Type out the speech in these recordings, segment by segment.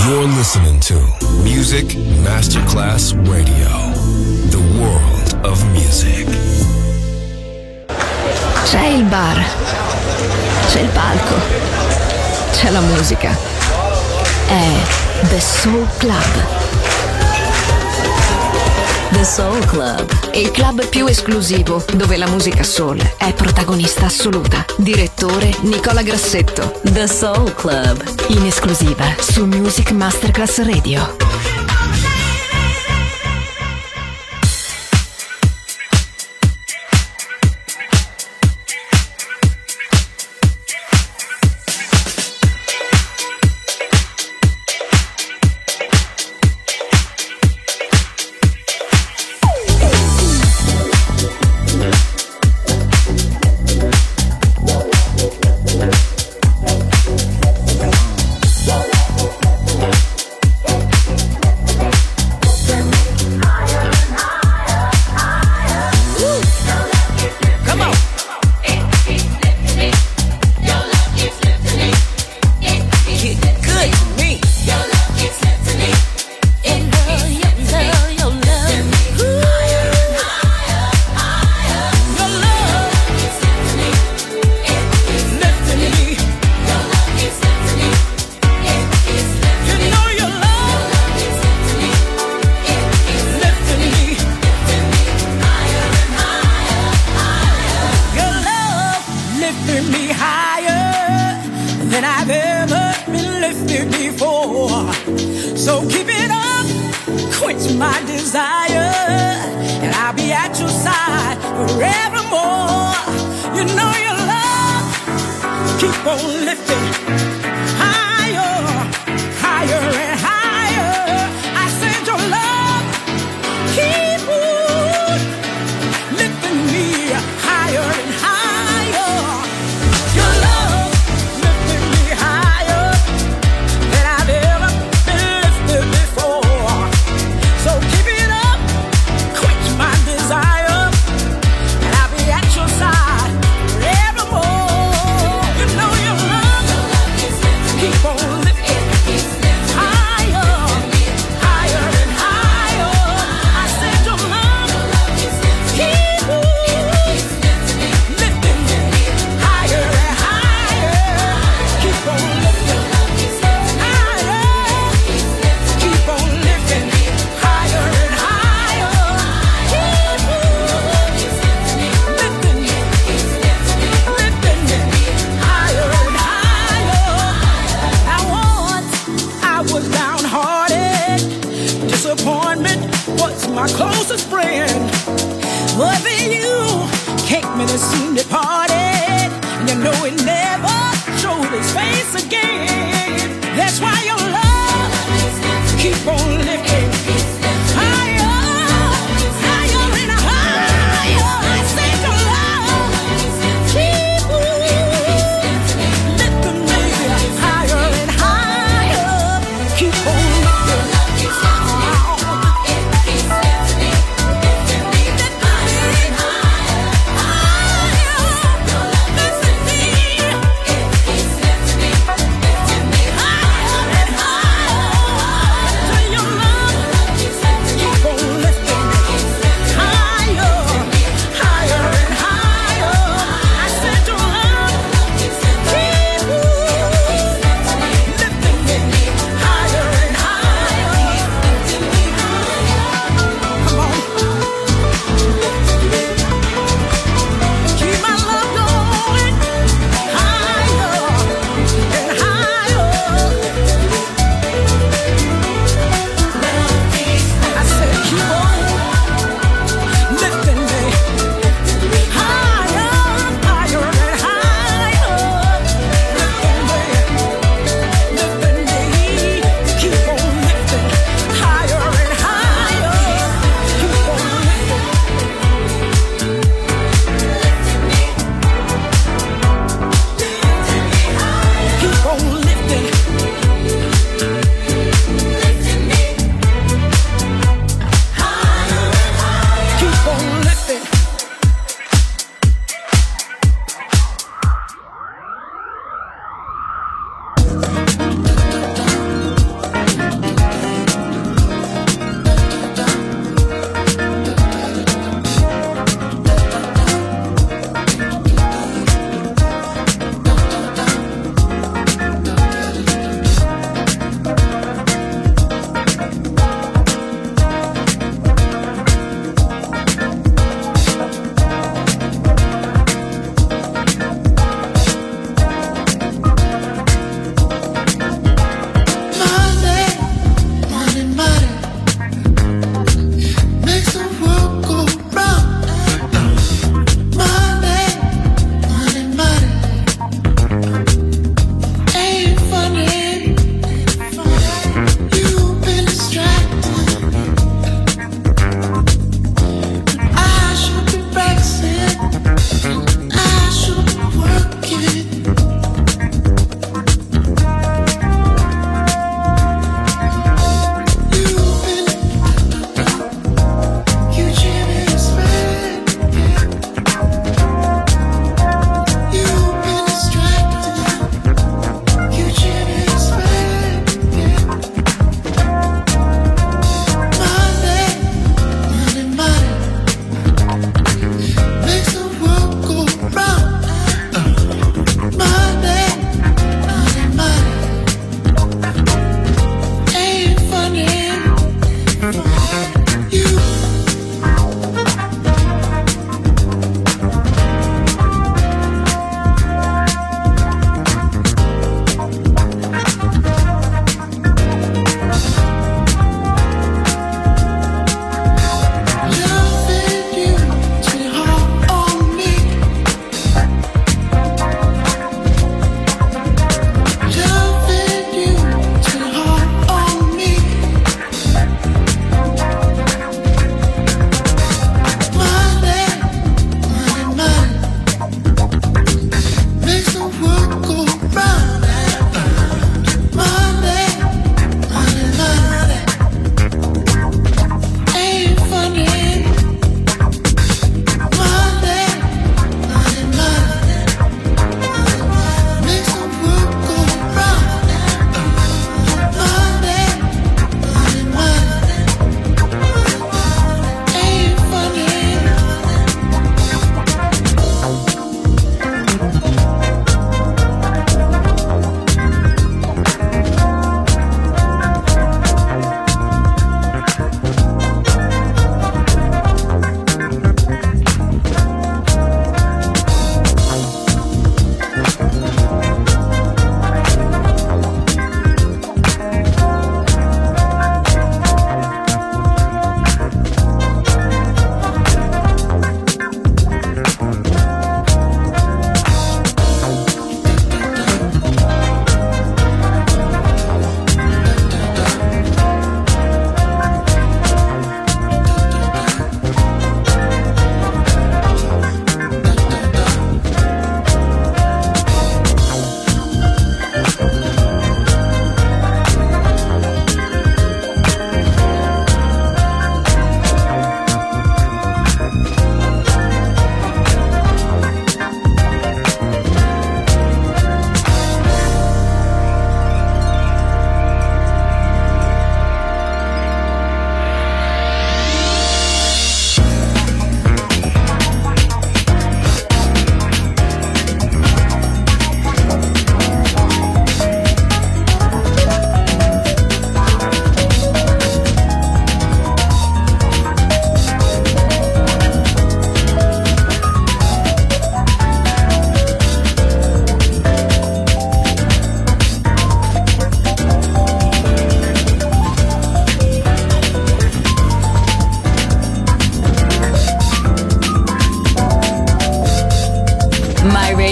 You're listening to Music Masterclass Radio, the world of music. C'è il bar, c'è il palco, c'è la musica. È The Soul Club. The Soul Club, il club più esclusivo dove la musica soul è protagonista assoluta. Direttore Nicola Grassetto. The Soul Club, in esclusiva su Music Masterclass Radio.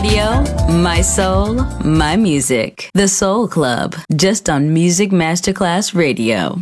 Radio, my soul, my music. The Soul Club, just on Music Masterclass Radio.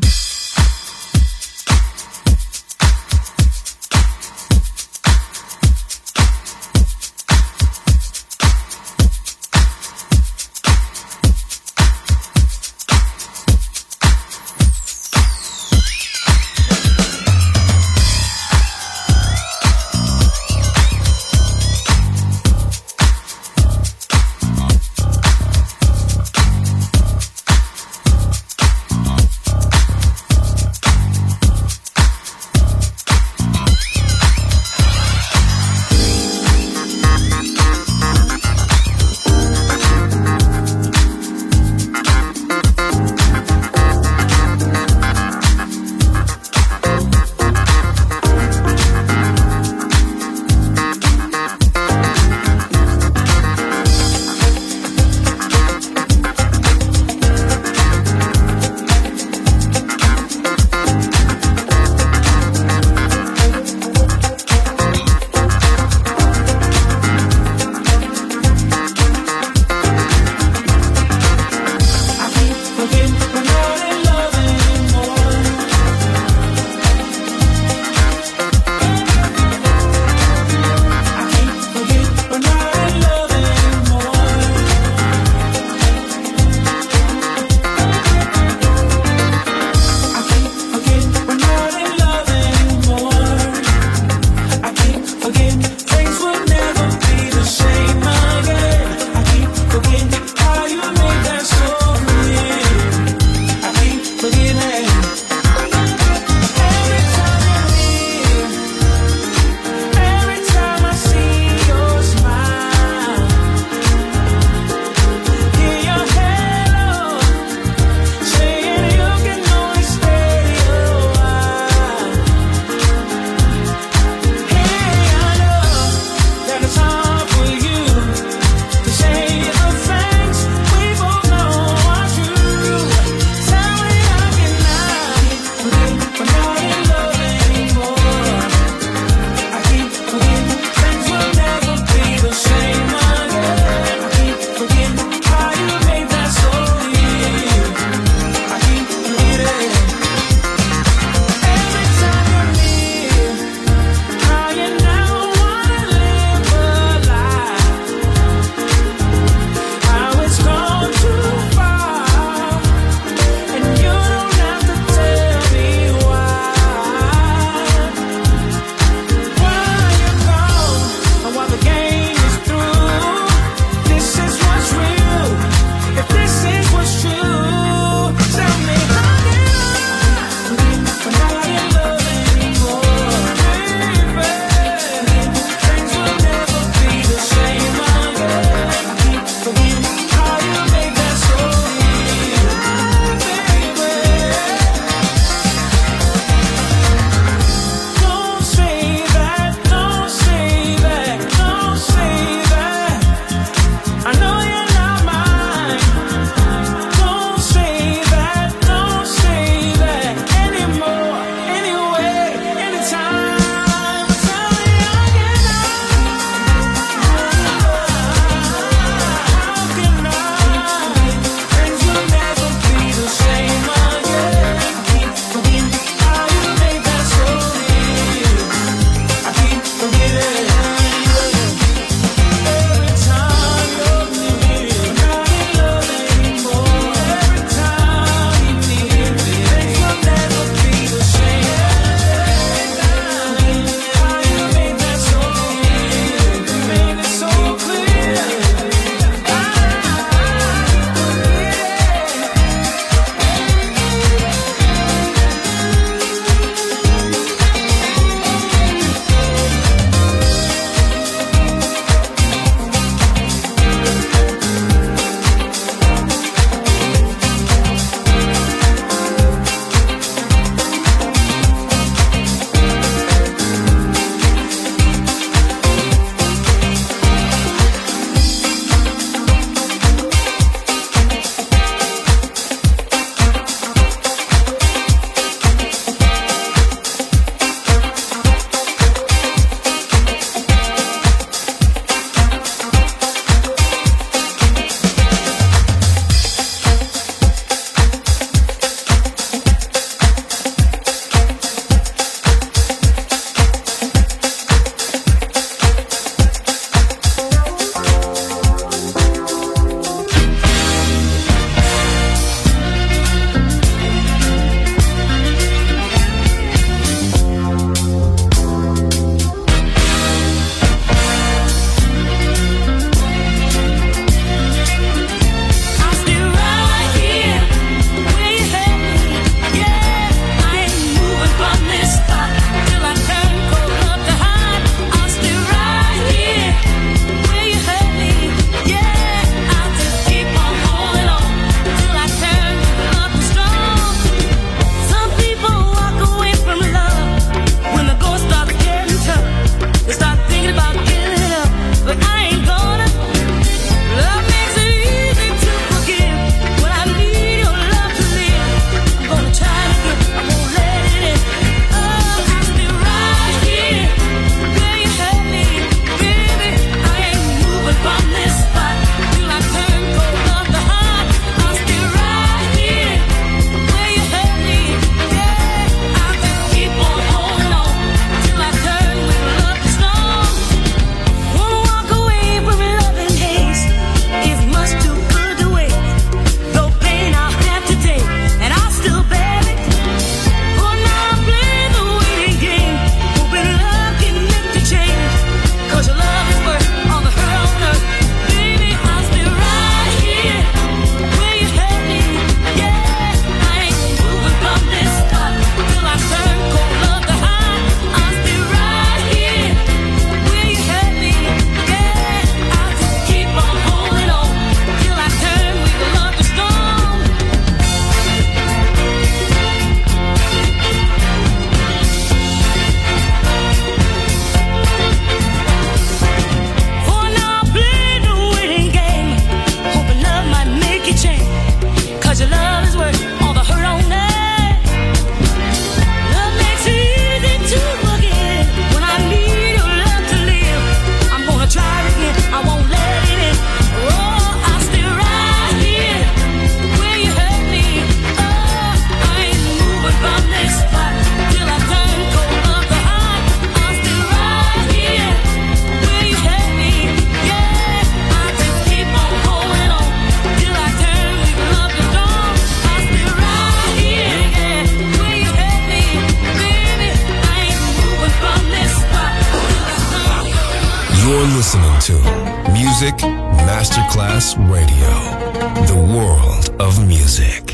listening to Music Masterclass Radio, the world of music.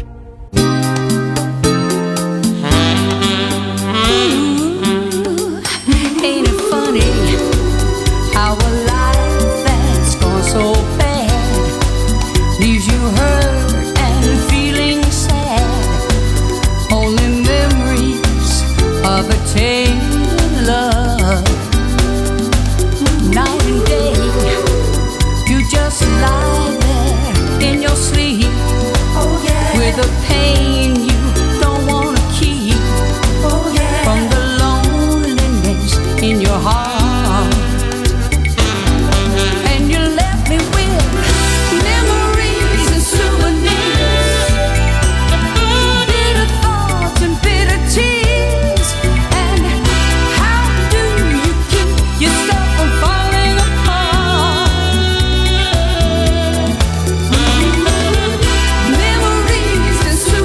Ain't it funny how a life that's gone so bad leaves you hurt and feeling sad? Only memories of a tainted love. Night and day, you just lie there in your sleep, oh, yeah, with a pain you don't wanna keep, oh, yeah, from the loneliness in your heart. And you left me with memories and souvenirs, bitter thoughts and bitter tears. And how do you keep yourself from falling apart? Memories and souvenirs.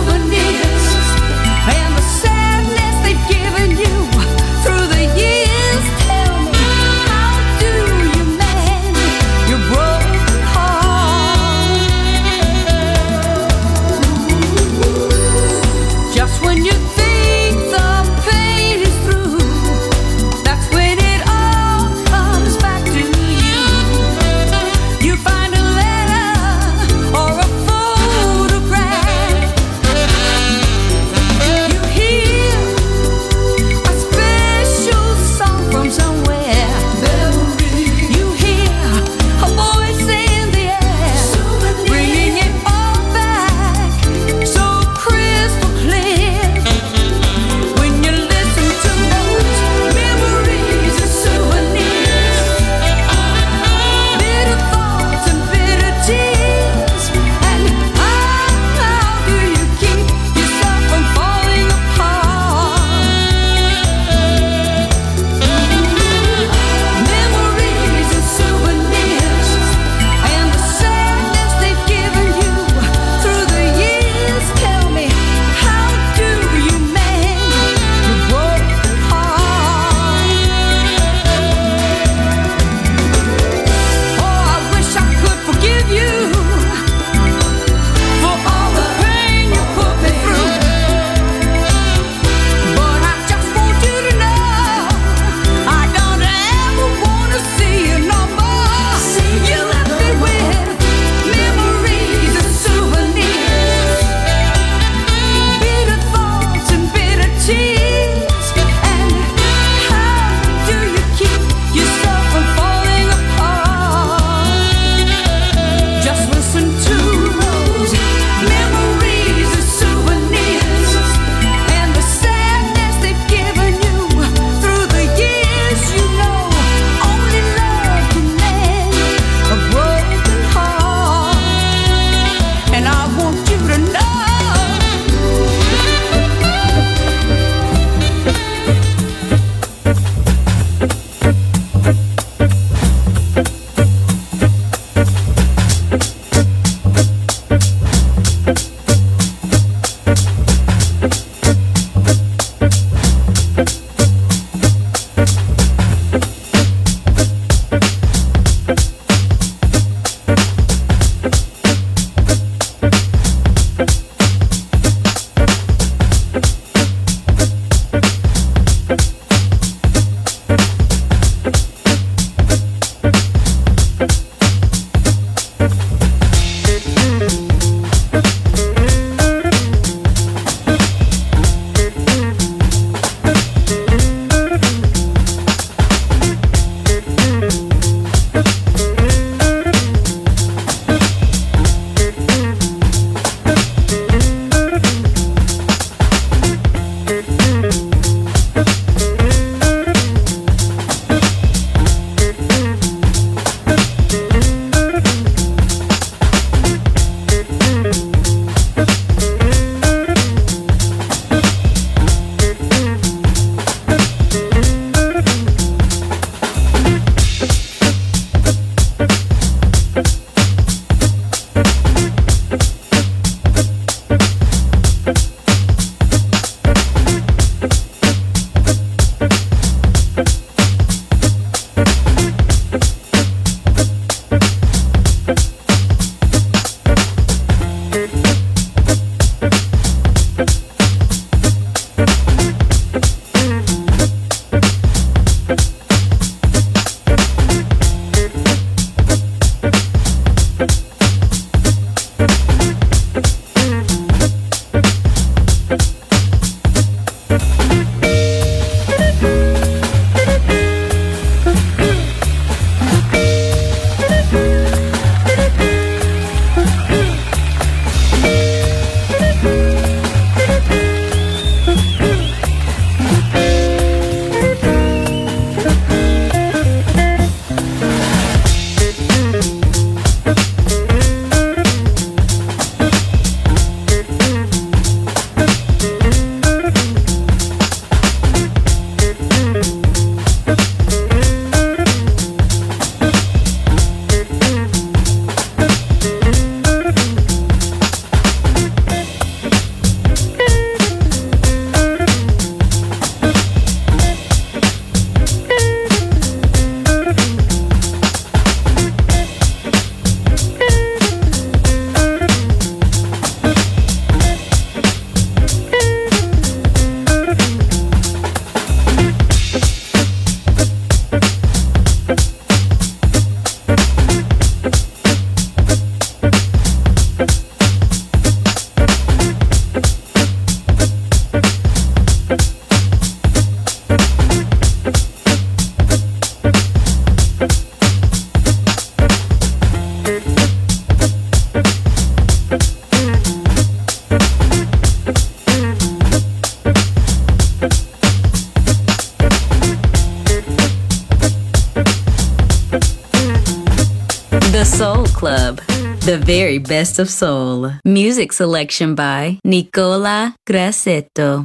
Club, the very best of soul. Music selection by Nicola Grassetto.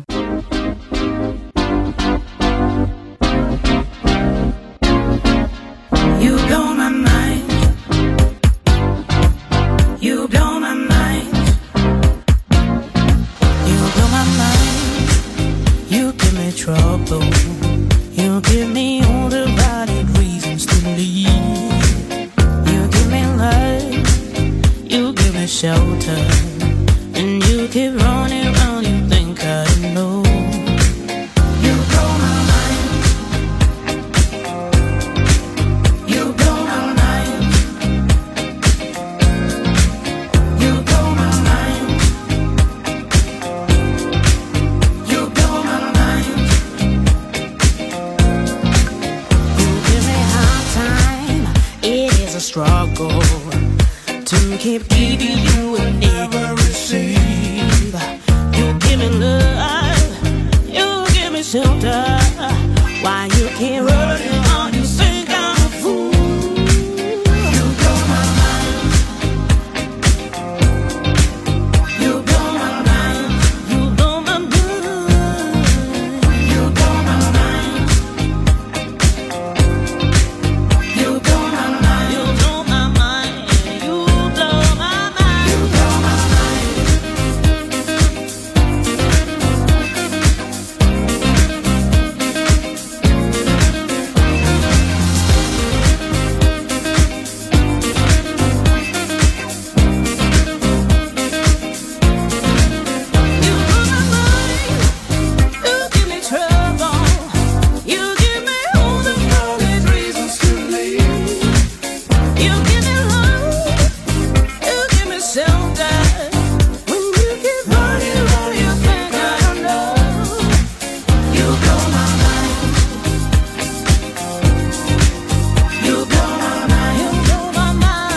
You blow my mind. You blow my mind. You blow my mind. You give me trouble. You give me all the right reasons to leave. You give me life. You give me shelter. And you keep running around. You think I know. You blow my mind. You blow my mind. You blow my mind. You blow my mind. You give me hard time. It is a struggle to keep giving you and never receive. You give me love. You give me shelter. Why you can't run it on? You think I'm a fool. You blow my mind. You blow my mind. You blow my mind. You blow my mind. You blow my mind. You blow my mind. You blow my mind. You blow my mind. You give me trouble. You give me all the wrong reasons to leave. You give me love. You give me shelter. When you keep running around, you think I don't know. You blow my mind. You blow my mind. You blow my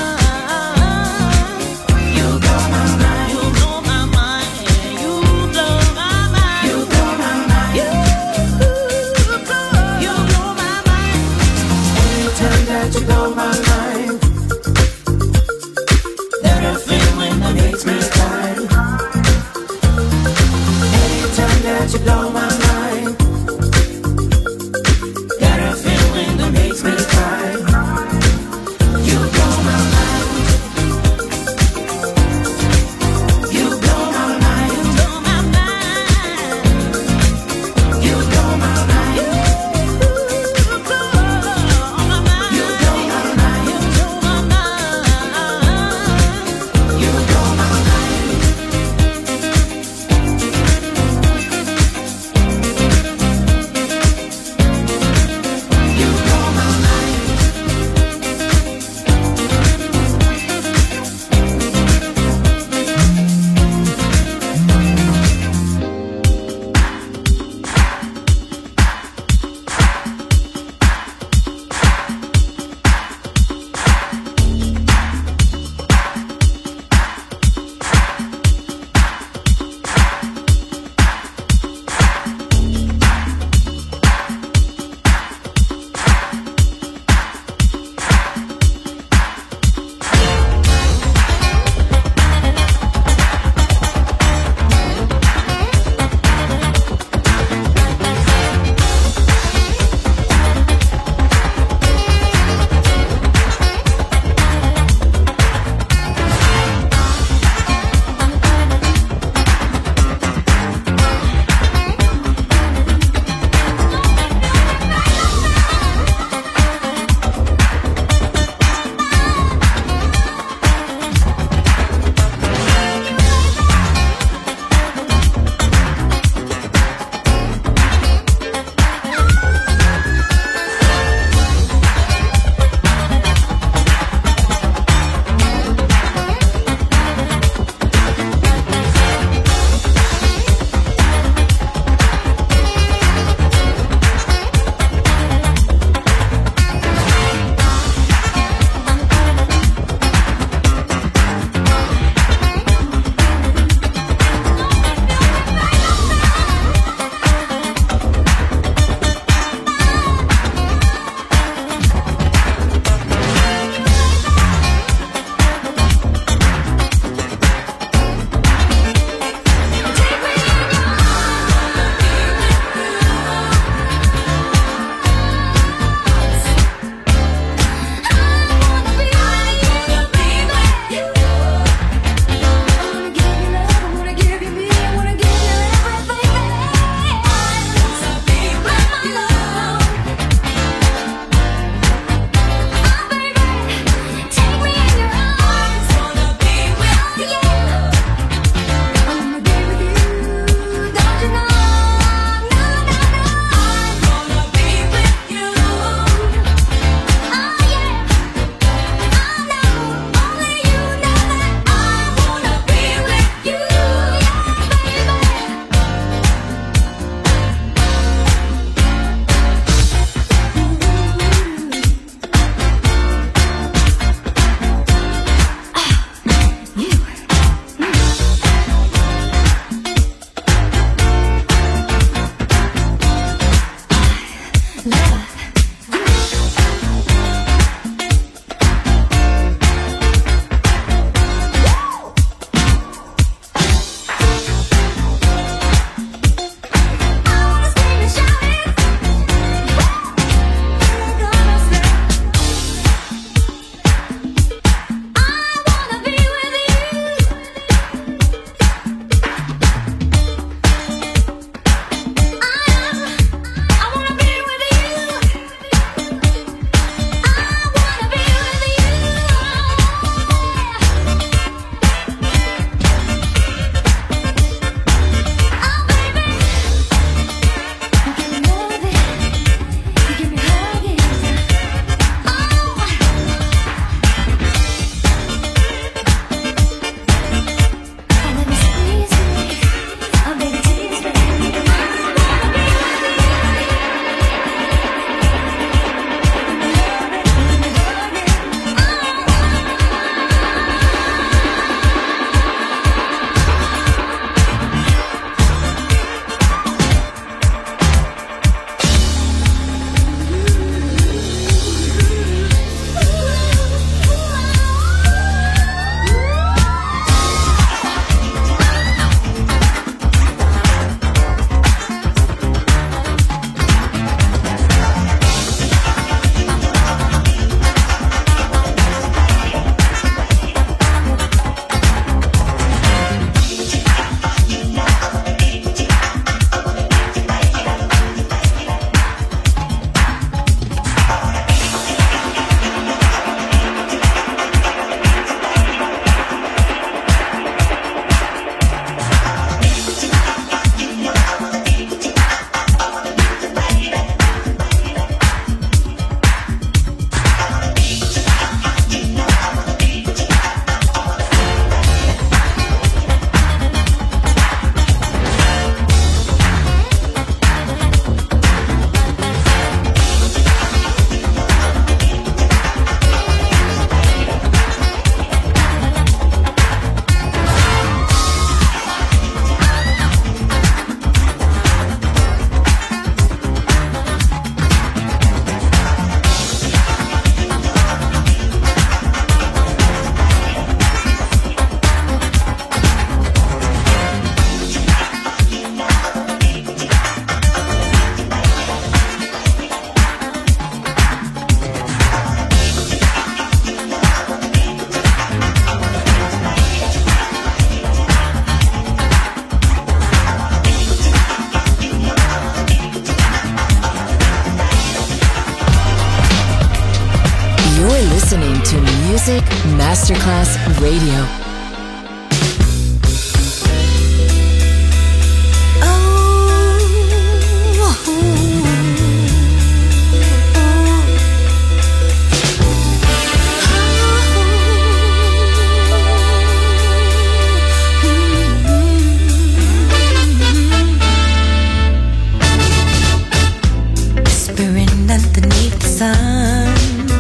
mind. You blow my mind. You blow my mind. You blow my mind. You blow my mind. You blow my mind. Anytime that you blow my mind, there's a feeling that makes me cry. Anytime that you blow my mind, got a feeling that makes me cry. You blow my mind. You blow my mind. You blow my mind. You blow my mind. You blow my mind. You blow my mind. You blow my mind. You blow my mind. Music Masterclass Radio. Underneath the sun,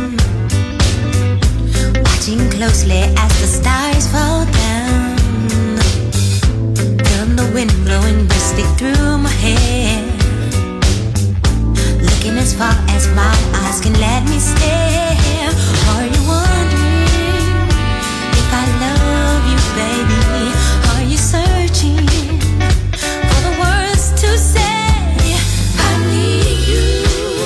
watching closely as the stars fall down. From the wind blowing rustic through my hair, looking as far as my eyes can let me stare. Are you wondering if I love you, baby? Are you searching for the words to say? I need you.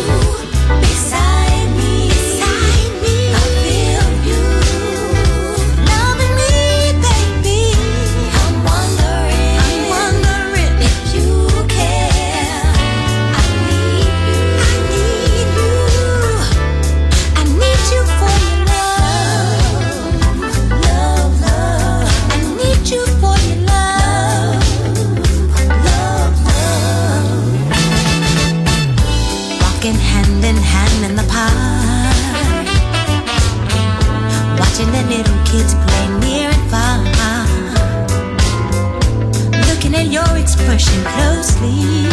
Hand in hand in the park, watching the little kids play near and far, looking at your expression closely,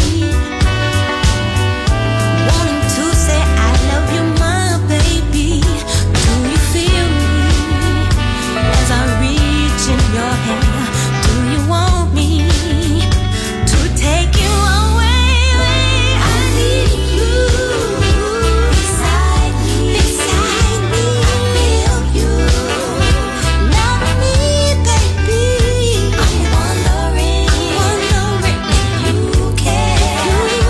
wanting to say I love you, my baby. Do you feel me as I reach in your hair? Do you want me to take you away? I need you. You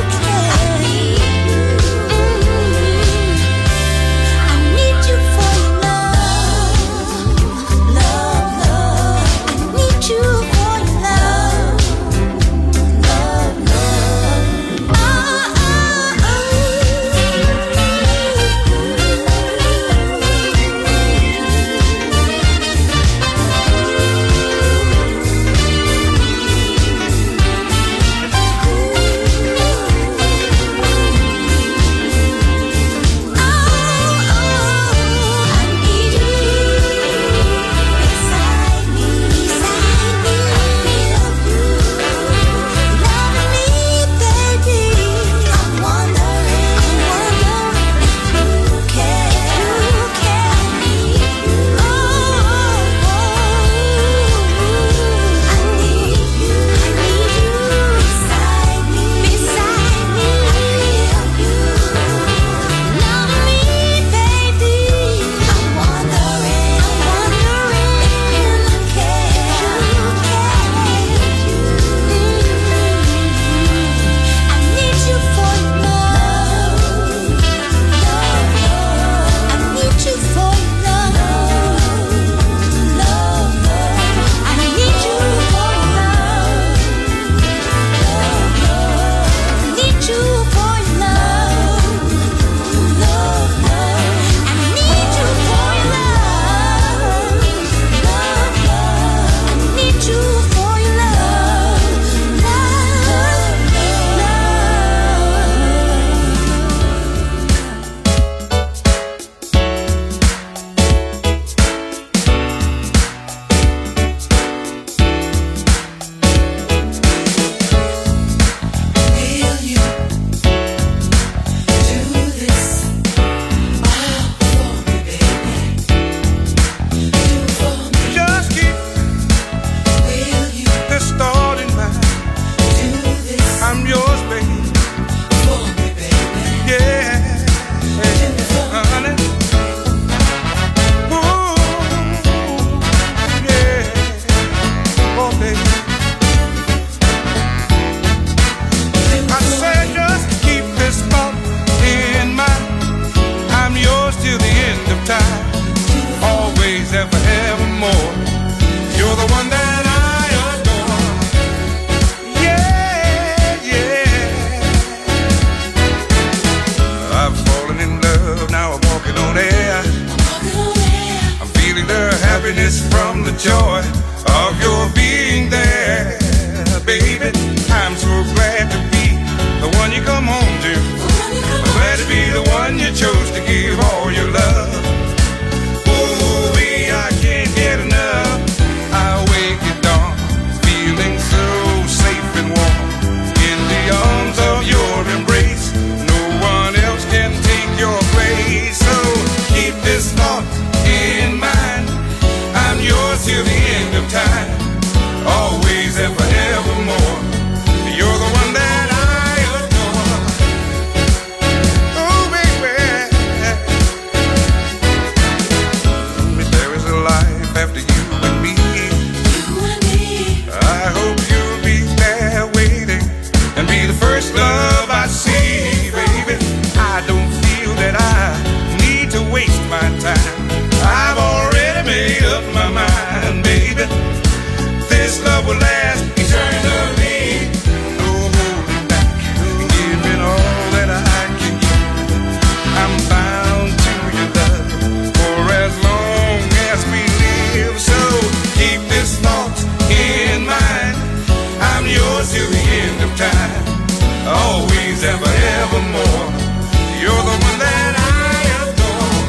till the end of time. Always, ever, evermore. You're the one that I adore.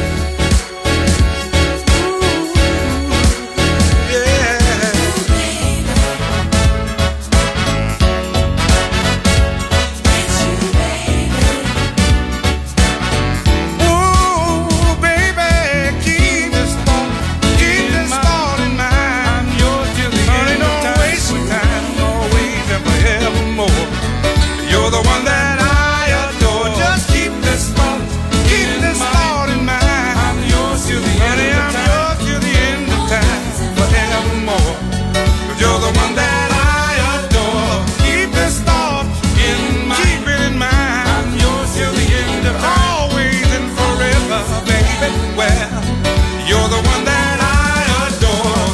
Ooh, yeah. It's you, baby. Ooh, baby, keep this thought in mind. I'm yours till the end of time. Don't waste time. Always, ever, evermore. You're the one that I adore. Just keep this thought in mind. I'm yours till the end of time. I'm yours till the end of time, forevermore. 'Cause you're the one that I adore. Keep this thought in mind. Keep it in mind. I'm yours till the end of time. Always and forever, baby. Well, you're the one that I adore.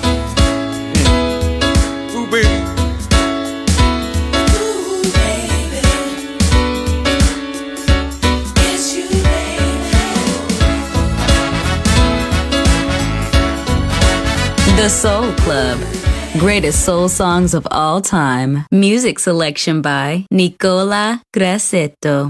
Ooh, baby. The Soul Club. Greatest soul songs of all time. Music selection by Nicola Grassetto.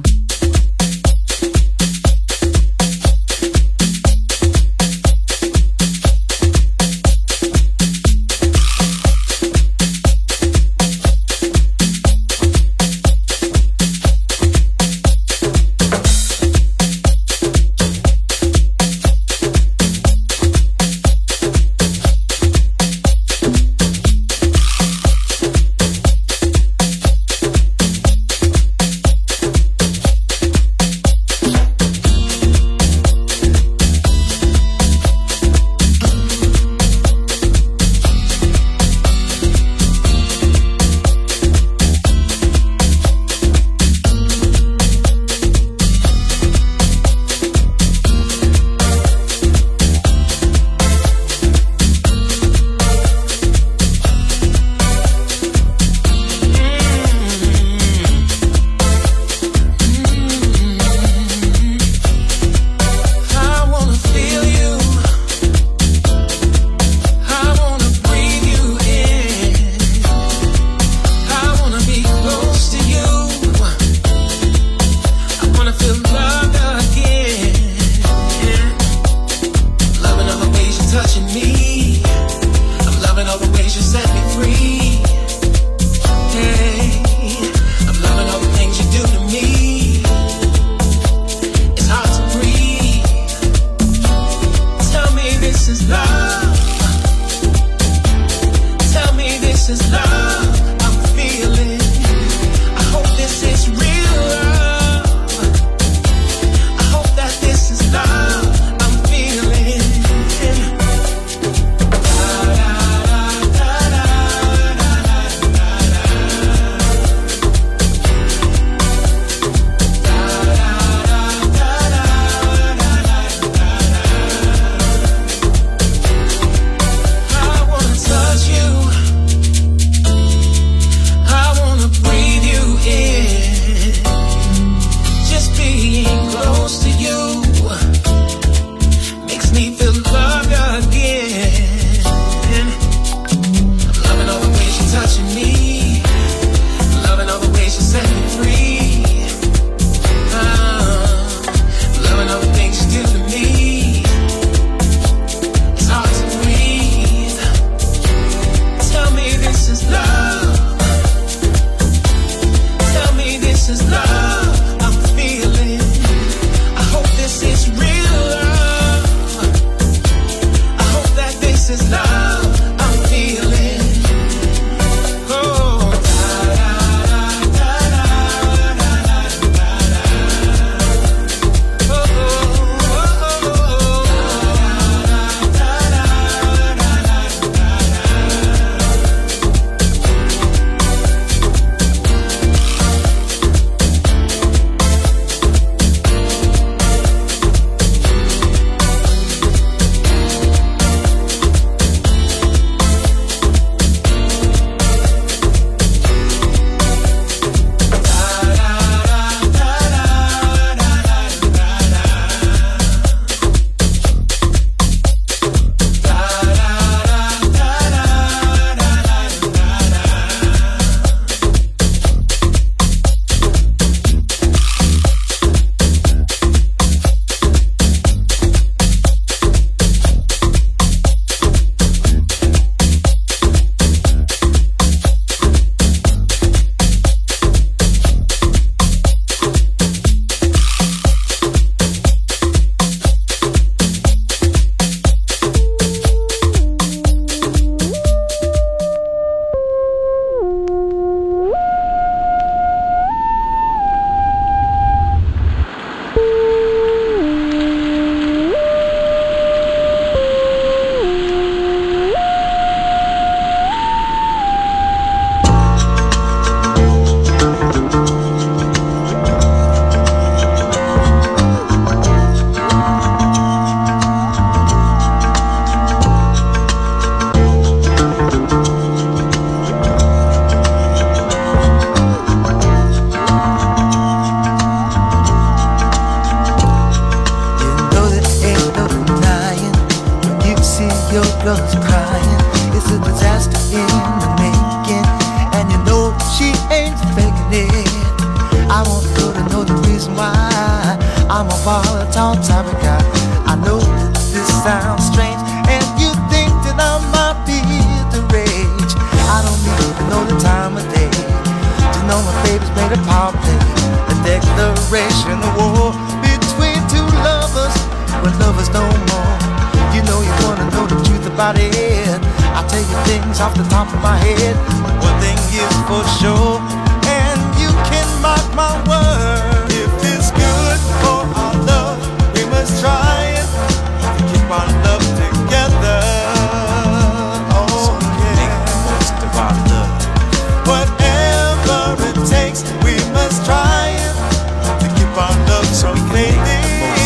has made a power play, a declaration of war between two lovers when lovers no more. You know you wanna know the truth about it. I'll tell you things off the top of my head. One thing is for sure, and you can mark my word. If it's good for our love, we must try it to keep our love together. Oh yeah, make the most of our love. Whatever it takes, we must try it to keep our love from fading.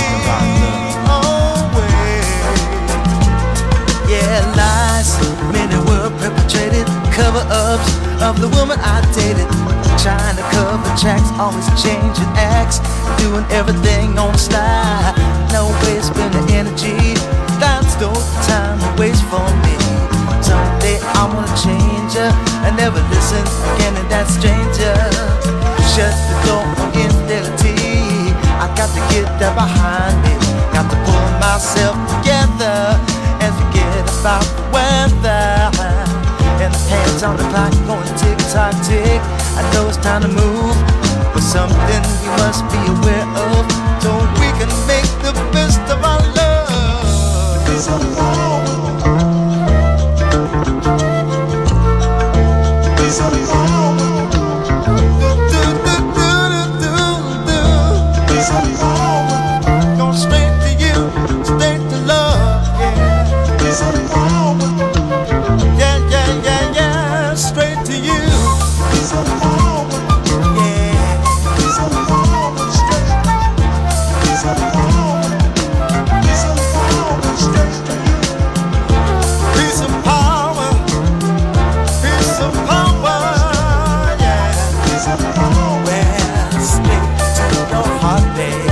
Lies, many were perpetrated, cover-ups of the woman I dated, trying to cover tracks, always changing acts, doing everything on the slide. No way spending energy, that's no time to waste for me. Someday I'm gonna change her and never listen again to that stranger. Shut the door on infidelity, I got to get that behind me. Got to pull myself together and forget about the weather. And the hands on the clock going tick tock tick. I know it's time to move, but something we must be aware of, so we can make the best of our love. Be so long. Be so long. Do do do do do do. Be so long. Go straight to you, straight to love. Yeah, yeah, yeah, yeah, straight to you. Piece of power, piece of power, yeah. Well, straight to your heart, babe.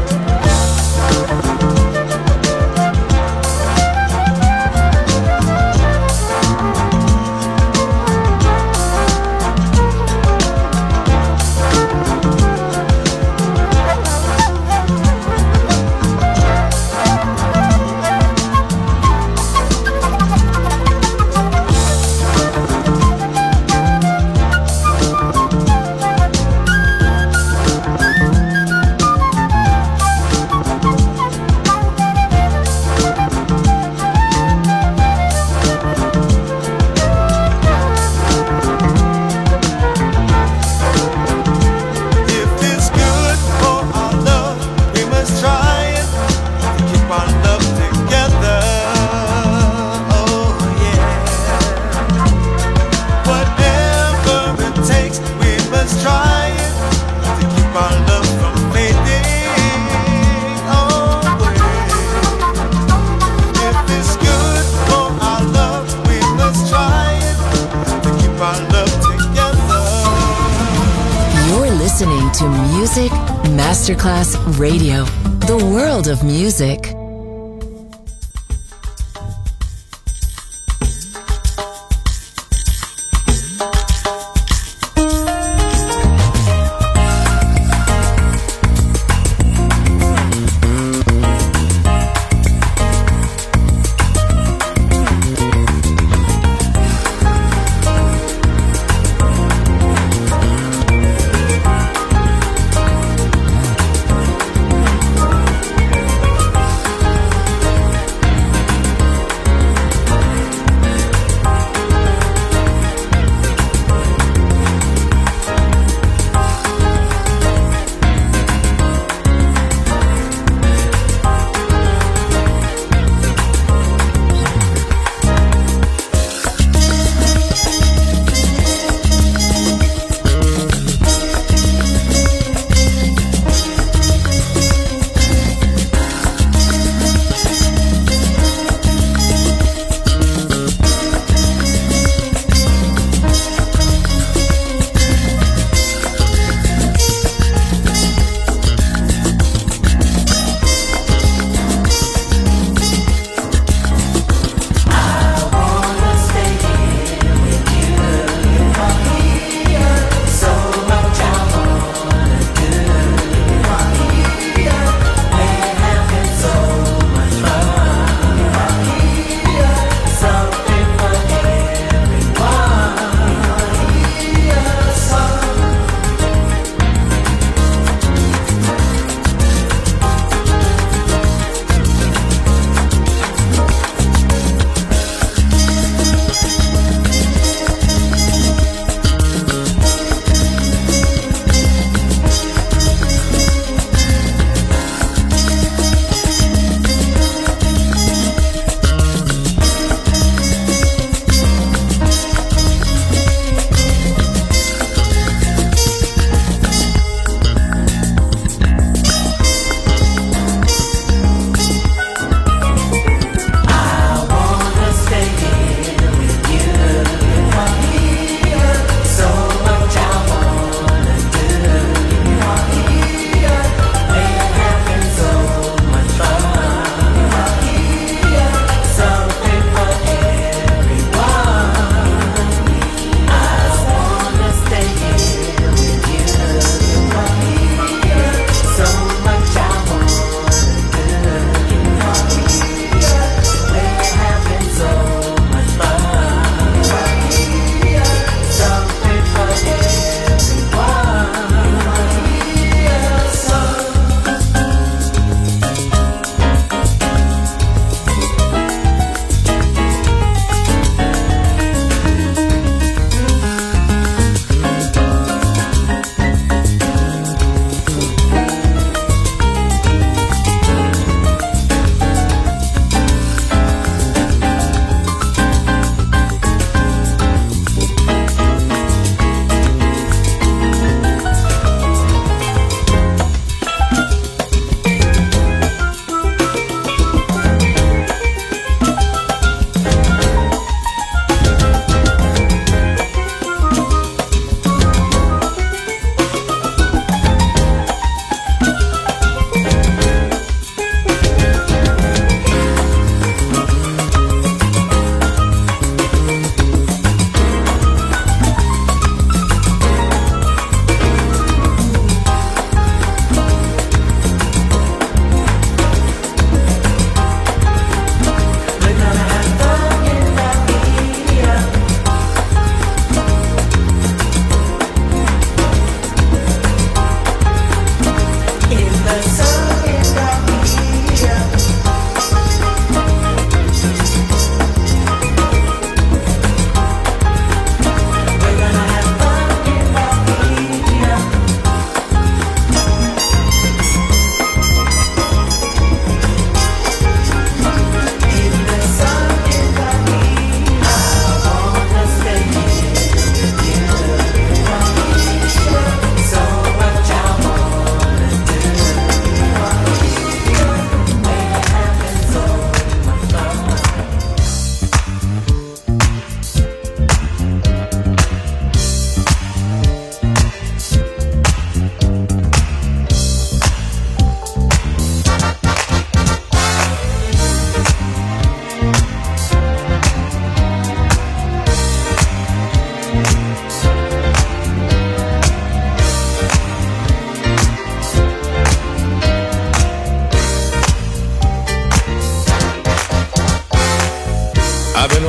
To Music Masterclass Radio, the world of music.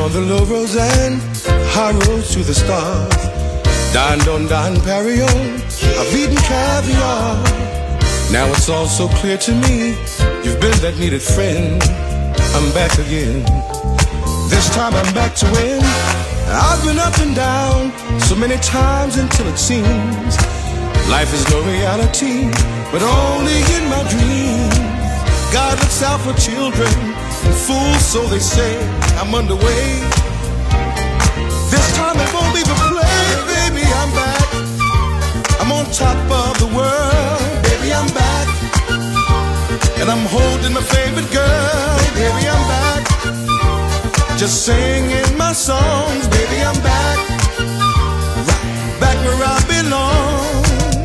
on the low roads and high roads to the stars. Dined on Don Perignon, I've eaten caviar. Now it's all so clear to me, you've been that needed friend. I'm back again. This time I'm back to win. I've been up and down so many times until it seems life is no reality, but only in my dreams. God looks out for children and fools, so they say. I'm underway. This time it won't be for play, baby, I'm back. I'm on top of the world, baby, I'm back. And I'm holding my favorite girl, baby, I'm back. Just singing my songs, baby, I'm back. Right back where I belong.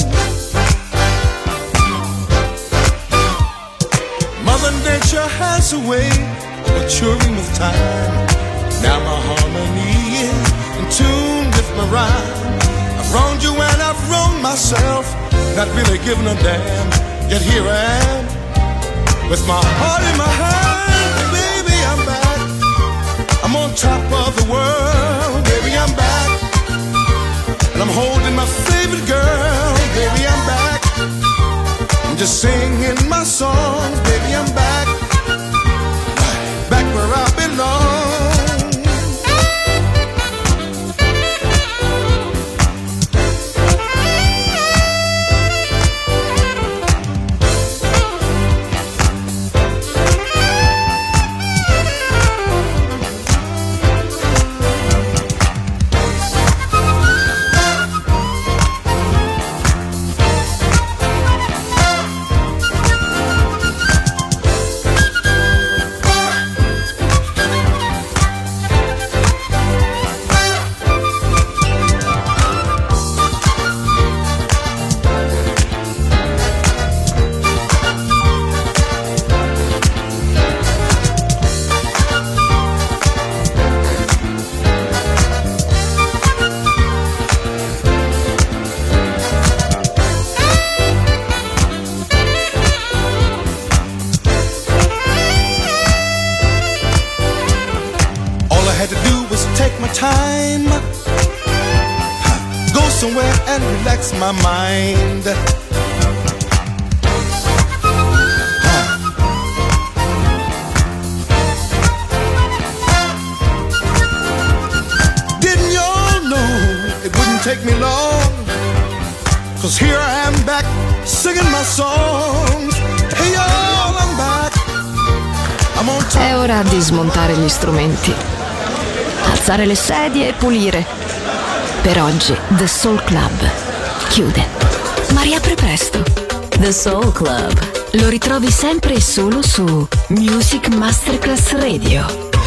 Mother Nature has a way of maturing with time. Now my harmony is in tune with my rhyme. I've wronged you and I've wronged myself, not really giving a damn. Yet here I am, with my heart in my hand. Baby, I'm back. I'm on top of the world. Baby, I'm back. And I'm holding my favorite girl. Baby, I'm back. I'm just singing my songs. Baby, I'm back. Back where I belong. Relax my mind. Didn't y'all know it wouldn't take me long? 'Cause here I am back singing my songs. Hey y'all, I'm back. I'm on top. È ora di smontare gli strumenti, alzare le sedie e pulire. Per oggi The Soul Club chiude, ma riapre presto. The Soul Club. Lo ritrovi sempre e solo su Music Masterclass Radio.